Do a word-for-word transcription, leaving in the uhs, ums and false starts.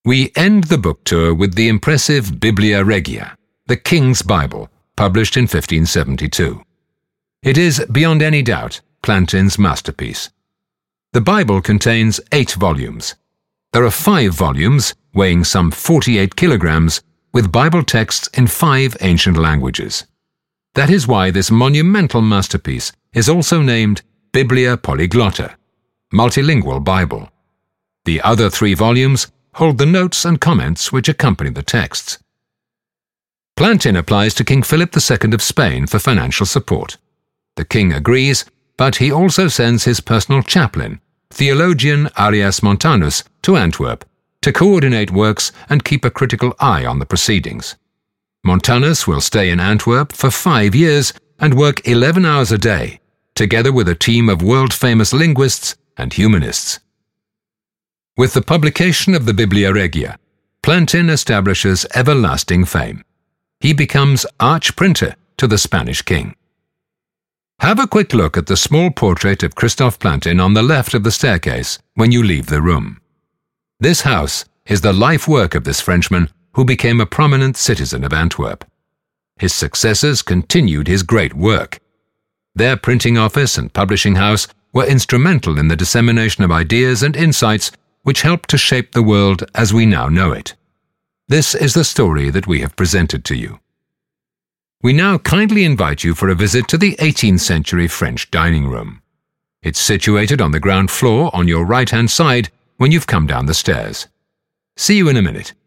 We end the book tour with the impressive Biblia Regia, the King's Bible, published in fifteen seventy-two. It is, beyond any doubt, Plantin's masterpiece. The Bible contains eight volumes. There are five volumes, weighing some forty-eight kilograms, with Bible texts in five ancient languages. That is why this monumental masterpiece is also named Biblia Polyglotta, multilingual Bible. The other three volumes hold the notes and comments which accompany the texts. Plantin applies to King Philip the Second of Spain for financial support. The king agrees, but he also sends his personal chaplain, theologian Arias Montanus, to Antwerp to coordinate works and keep a critical eye on the proceedings. Montanus will stay in Antwerp for five years and work eleven hours a day, together with a team of world-famous linguists and humanists. With the publication of the Biblia Regia, Plantin establishes everlasting fame. He becomes arch-printer to the Spanish king. Have a quick look at the small portrait of Christophe Plantin on the left of the staircase when you leave the room. This house is the life work of this Frenchman who became a prominent citizen of Antwerp. His successors continued his great work. Their printing office and publishing house were instrumental in the dissemination of ideas and insights which helped to shape the world as we now know it. This is the story that we have presented to you. We now kindly invite you for a visit to the eighteenth century French dining room. It's situated on the ground floor on your right-hand side when you've come down the stairs. See you in a minute.